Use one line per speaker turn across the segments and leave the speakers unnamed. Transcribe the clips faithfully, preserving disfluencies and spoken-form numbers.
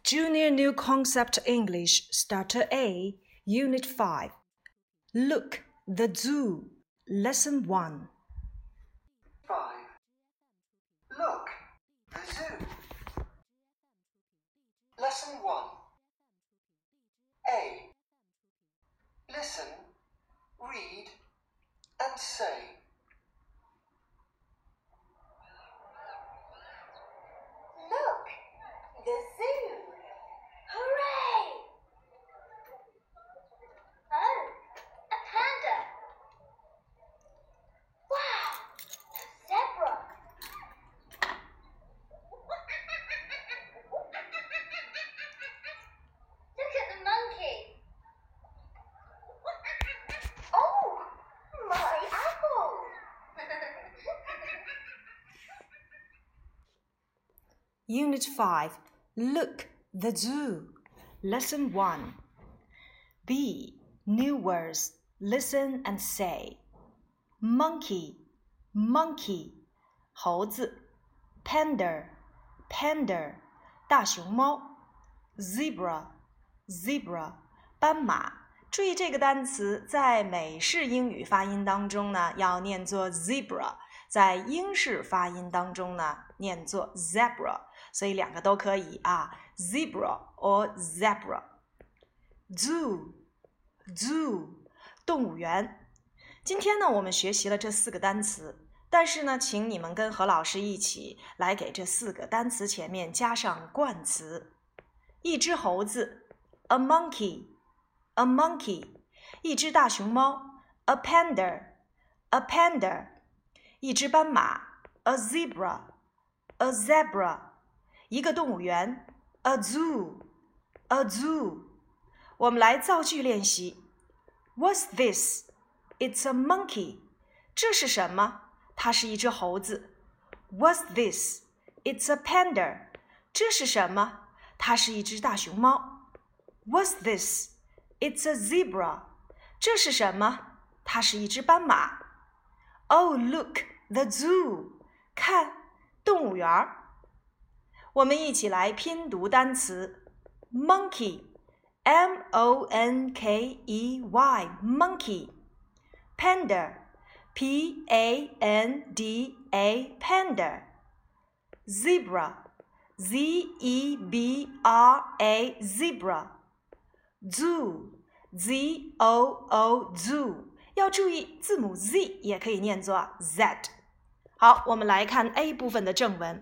Junior New Concept English Starter A, Unit five. Look, the Zoo, Lesson one.
five. Look, the zoo. Lesson one. A. Listen, read, and say.
Look, the zoo. Hooray! Oh, a panda. Wow, a zebra. Look at the monkey. Oh, my apple.
Unit five. Look, the Zoo, Lesson one. B. New words. Listen and say. Monkey, monkey, 猴子 Panda, panda, 大熊猫 Zebra, zebra, 斑马。注意这个单词在美式英语发音当中呢要念作 zebra， 在英式发音当中呢念作 zebra， 所以两个都可以啊 zebra or zebra。 Zoo, zoo, 动物园。今天呢我们学习了这四个单词，但是呢请你们跟何老师一起来给这四个单词前面加上冠词。一只猴子 a monkey, a monkey， 一只大熊猫 a panda, a panda， 一只斑马 a zebra, a zebra， 一个动物园 a zoo, a zoo。 我们来造句练习。 What's this? It's a monkey. 这是什么？它是一只猴子。 What's this? It's a panda. 这是什么？它是一只大熊猫。 What's this? It's a zebra. 这是什么？它是一只斑马。 Oh, look, the zoo. 看，动物园。我们一起来拼读单词 monkey, M O N K E Y, monkey. Panda, P A N D A, panda. Zebra, Z E B R A, zebra. Zoo, Z O O, zoo. 要注意字母 Z 也可以念作 Z。 好，我们来看 A 部分的正文。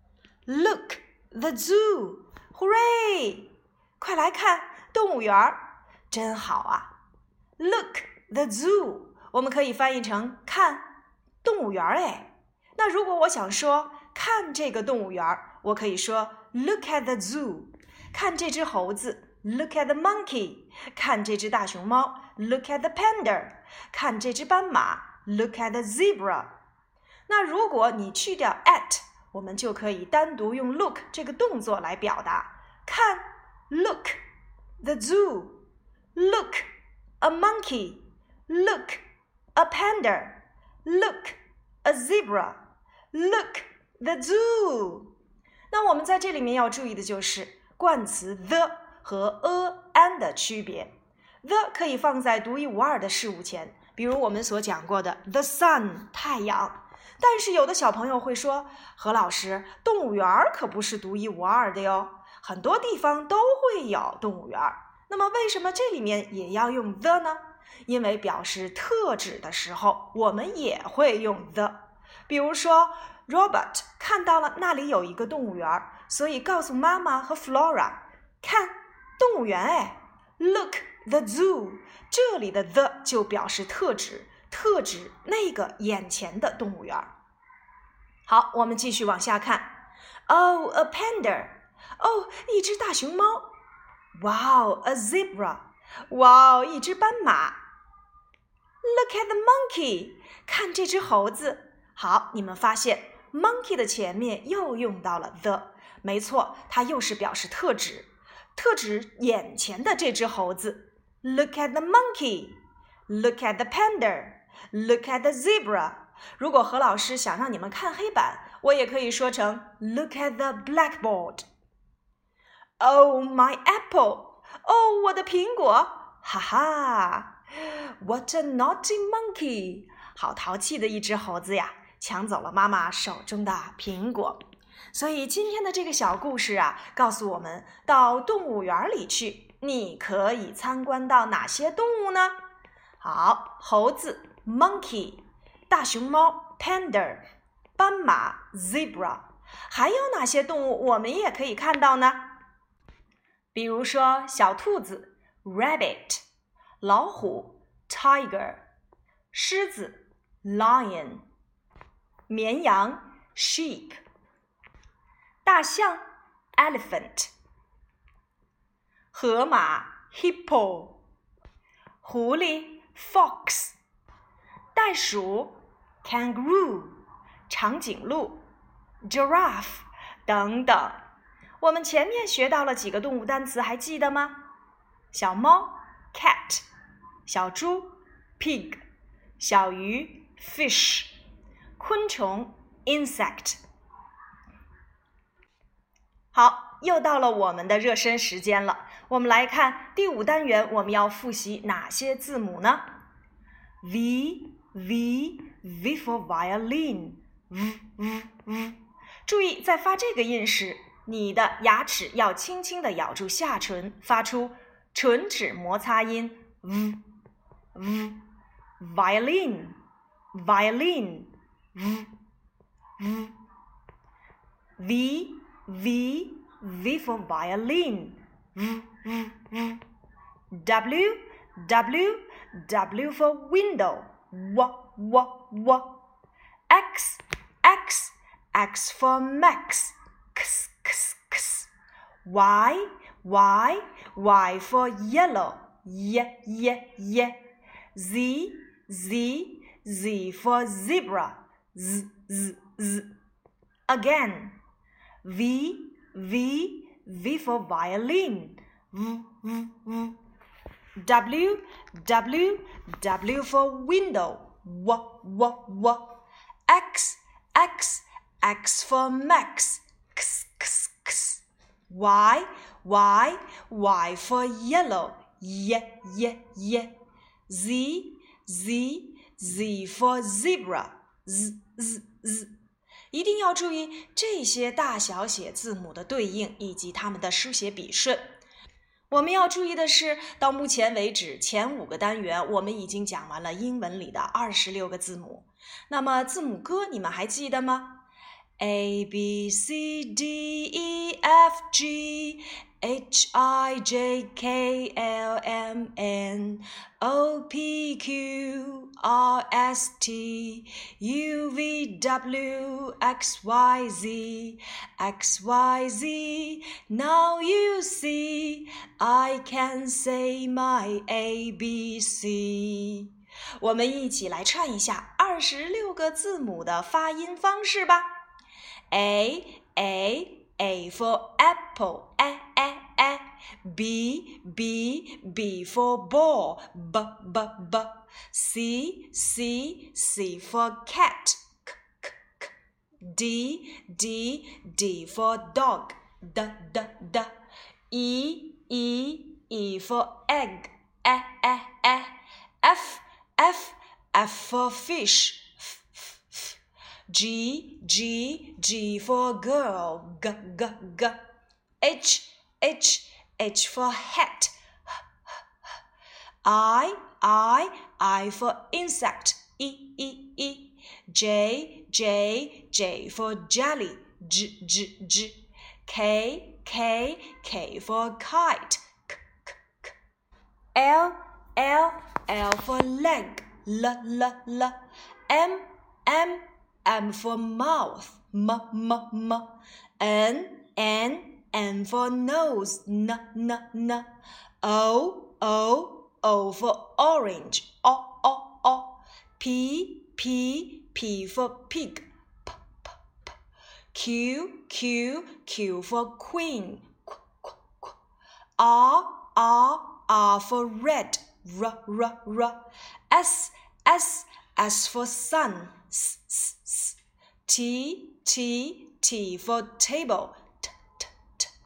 Look, the zoo. Hooray! 快来看动物园，真好啊。 Look, the zoo. 我们可以翻译成看动物园哎。那如果我想说看这个动物园，我可以说 Look at the zoo. 看这只猴子 Look at the monkey. 看这只大熊猫 Look at the panda. 看这只斑马 Look at the zebra. 那如果你去掉 at， 我们就可以单独用 look 这个动作来表达。看 Look, the zoo. Look, a monkey. Look, a panda. Look, a zebra. Look, the zoo. 那我们在这里面要注意的就是冠词 the 和 a, an 的区别。 the 可以放在独一无二的事物前，比如我们所讲过的 the sun, 太阳。但是有的小朋友会说，何老师，动物园可不是独一无二的哟，很多地方都会有动物园。那么为什么这里面也要用 the 呢？因为表示特指的时候我们也会用 the。 比如说 Robert 看到了那里有一个动物园，所以告诉妈妈和 Flora， 看动物园哎 Look, the zoo. 这里的 the 就表示特指，特指那个眼前的动物园。好，我们继续往下看。 Oh, a panda. 哦，一只大熊猫。 Wow, a zebra. 哇，一只斑马。 Look at the monkey. 看这只猴子。好，你们发现 monkey 的前面又用到了 the， 没错，它又是表示特指，特指眼前的这只猴子。 Look at the monkey. Look at the panda. Look at the zebra. 如果何老师想让你们看黑板，我也可以说成 Look at the blackboard. Oh, my apple! 哦，我的苹果！哈哈 ！What a naughty monkey! 好淘气的一只猴子呀，抢走了妈妈手中的苹果。所以今天的这个小故事啊，告诉我们到动物园里去，你可以参观到哪些动物呢？好，猴子 monkey， 大熊猫 panda， 斑马 zebra， 还有哪些动物我们也可以看到呢？比如说小兔子 rabbit， 老虎 tiger， 狮子 lion， 绵羊 sheep， 大象 elephant， 河马 hippo， 狐狸 fox， 袋鼠 kangaroo， 长颈鹿 giraffe 等等。我们前面学到了几个动物单词，还记得吗？小猫 cat， 小猪 pig， 小鱼 fish， 昆虫 insect。 好，又到了我们的热身时间了。我们来看第五单元，我们要复习哪些字母呢？ V V V for violin V V V。 注意在发这个音时，你的牙齿要轻轻地咬住下唇，发出唇齿摩擦音 v v violin violin v v v v v for violin v v v w w w for window w w w x x x for max x x x y y y for yellow y y y z z z for zebra z z z again v v v for violin v v v w w w for window w w w x x x for max x x x y y y for yellow y y y z z z for zebra z z z。 一定要注意这些大小写字母的对应以及它们的书写笔顺。我们要注意的是，到目前为止前五个单元我们已经讲完了英文里的二十六个字母。那么字母歌你们还记得吗？ A B C D E F G H I J K L M N O P Q R S T U V W X Y Z X Y Z Now you see I can say my A B C。 我们一起来串一下二十六个字母的发音方式吧。A A A for apple A A A B B B for ball B B B C C C for cat K K K D D D for dog D D D E E E for egg A A A F F F for fish G, G, G for girl, G, G, G. H, H, H for hat. I, I, I for insect, E, E, E. J, J, J for jelly, J, J, J. K, K, K for kite, K, K, K. L, L, L for leg, L, L, L. M, M, M for mouth, M, M, M. N, N, N for nose, N, N, N. O, O, O for orange, O, O, O. P, P, P for pig, P, P, P. Q, Q, Q for queen, Qu, Qu, Qu. R, R, R for red, R, R, R. S, S, S for sun, S, S, S. T, T, T for table, T, T, T.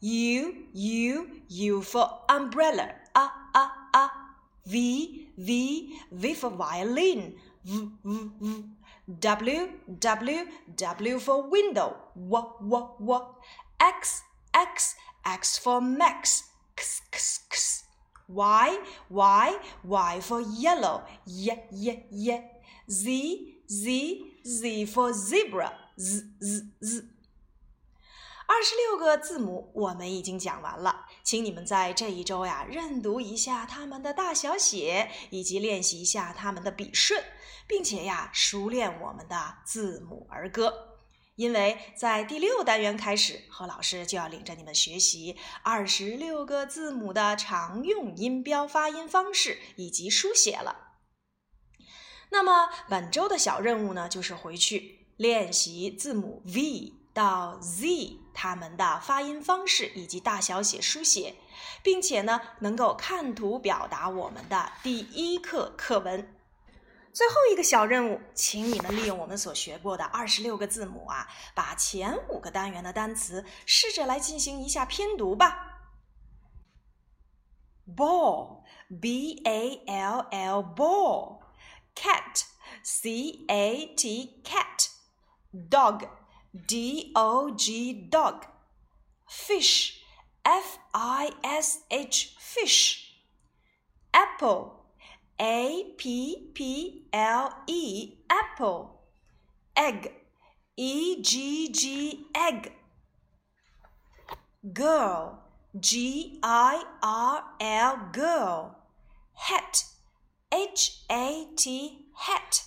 U, U, U for umbrella. Ah, ah, ah. V, V, V for violin. V, V, V. W, W, W for window. W, W, W. X, X, X for Max. X, X, X. Y, Y, Y for yellow. Y, Y, Y. Z, Z, Z for zebra. Z, Z, Z。二十六个字母我们已经讲完了，请你们在这一周呀认读一下它们的大小写，以及练习一下它们的笔顺，并且呀熟练我们的字母儿歌。因为在第六单元开始，何老师就要领着你们学习二十六个字母的常用音标发音方式以及书写了。那么本周的小任务呢，就是回去练习字母 V 到 Z 它们的发音方式以及大小写书写，并且呢能够看图表达我们的第一课课文。最后一个小任务，请你们利用我们所学过的二十六个字母啊，把前五个单元的单词试着来进行一下拼读吧。Ball, B A L L, ball. Cat, C A T, cat. Dog, D O G, dog. Fish, F I S H, fish. Apple, A P P L E, apple. Egg, E G G, egg. Girl, G I R L, girl. Hat, H A T, hat.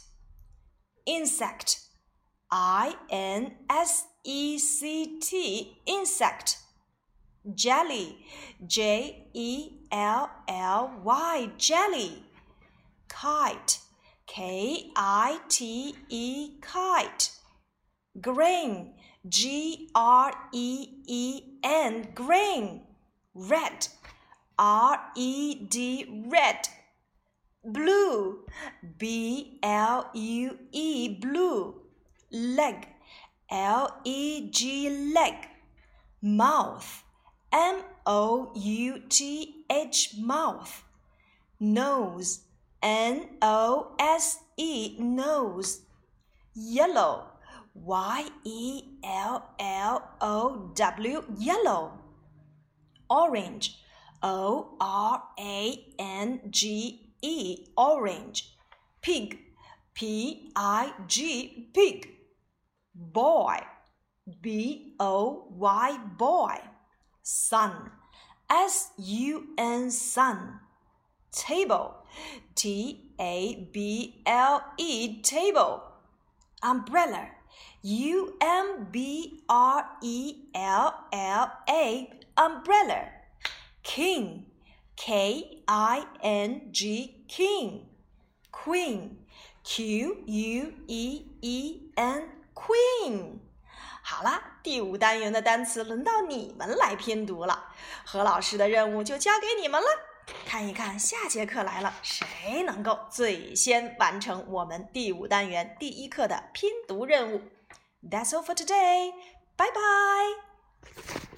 Insect, I N S E C T, insect. Jelly, J E L L Y, jelly. Kite, K I T E, kite. Grain, G R E E N, grain. Red, R E D, red. Blue, B L U E, blue. Leg, L E G, leg. Mouth, M O U T H, mouth. Nose, N O S E, nose. Yellow, Y E L L O W, yellow. Orange, O R A N G E, orange. Pig, P I G, pig. Boy, B O Y, boy. Sun, S U N, sun. Table, T A B L E, table. Umbrella, U M B R E L L A, umbrella. King, K I N G, king. Queen, Q U E E N, queen. 好啦，第五单元的单词轮到你们来拼读了，何老师的任务就交给你们了。看一看下节课来了，谁能够最先完成我们第五单元第一课的拼读任务。That's all for today. Bye bye.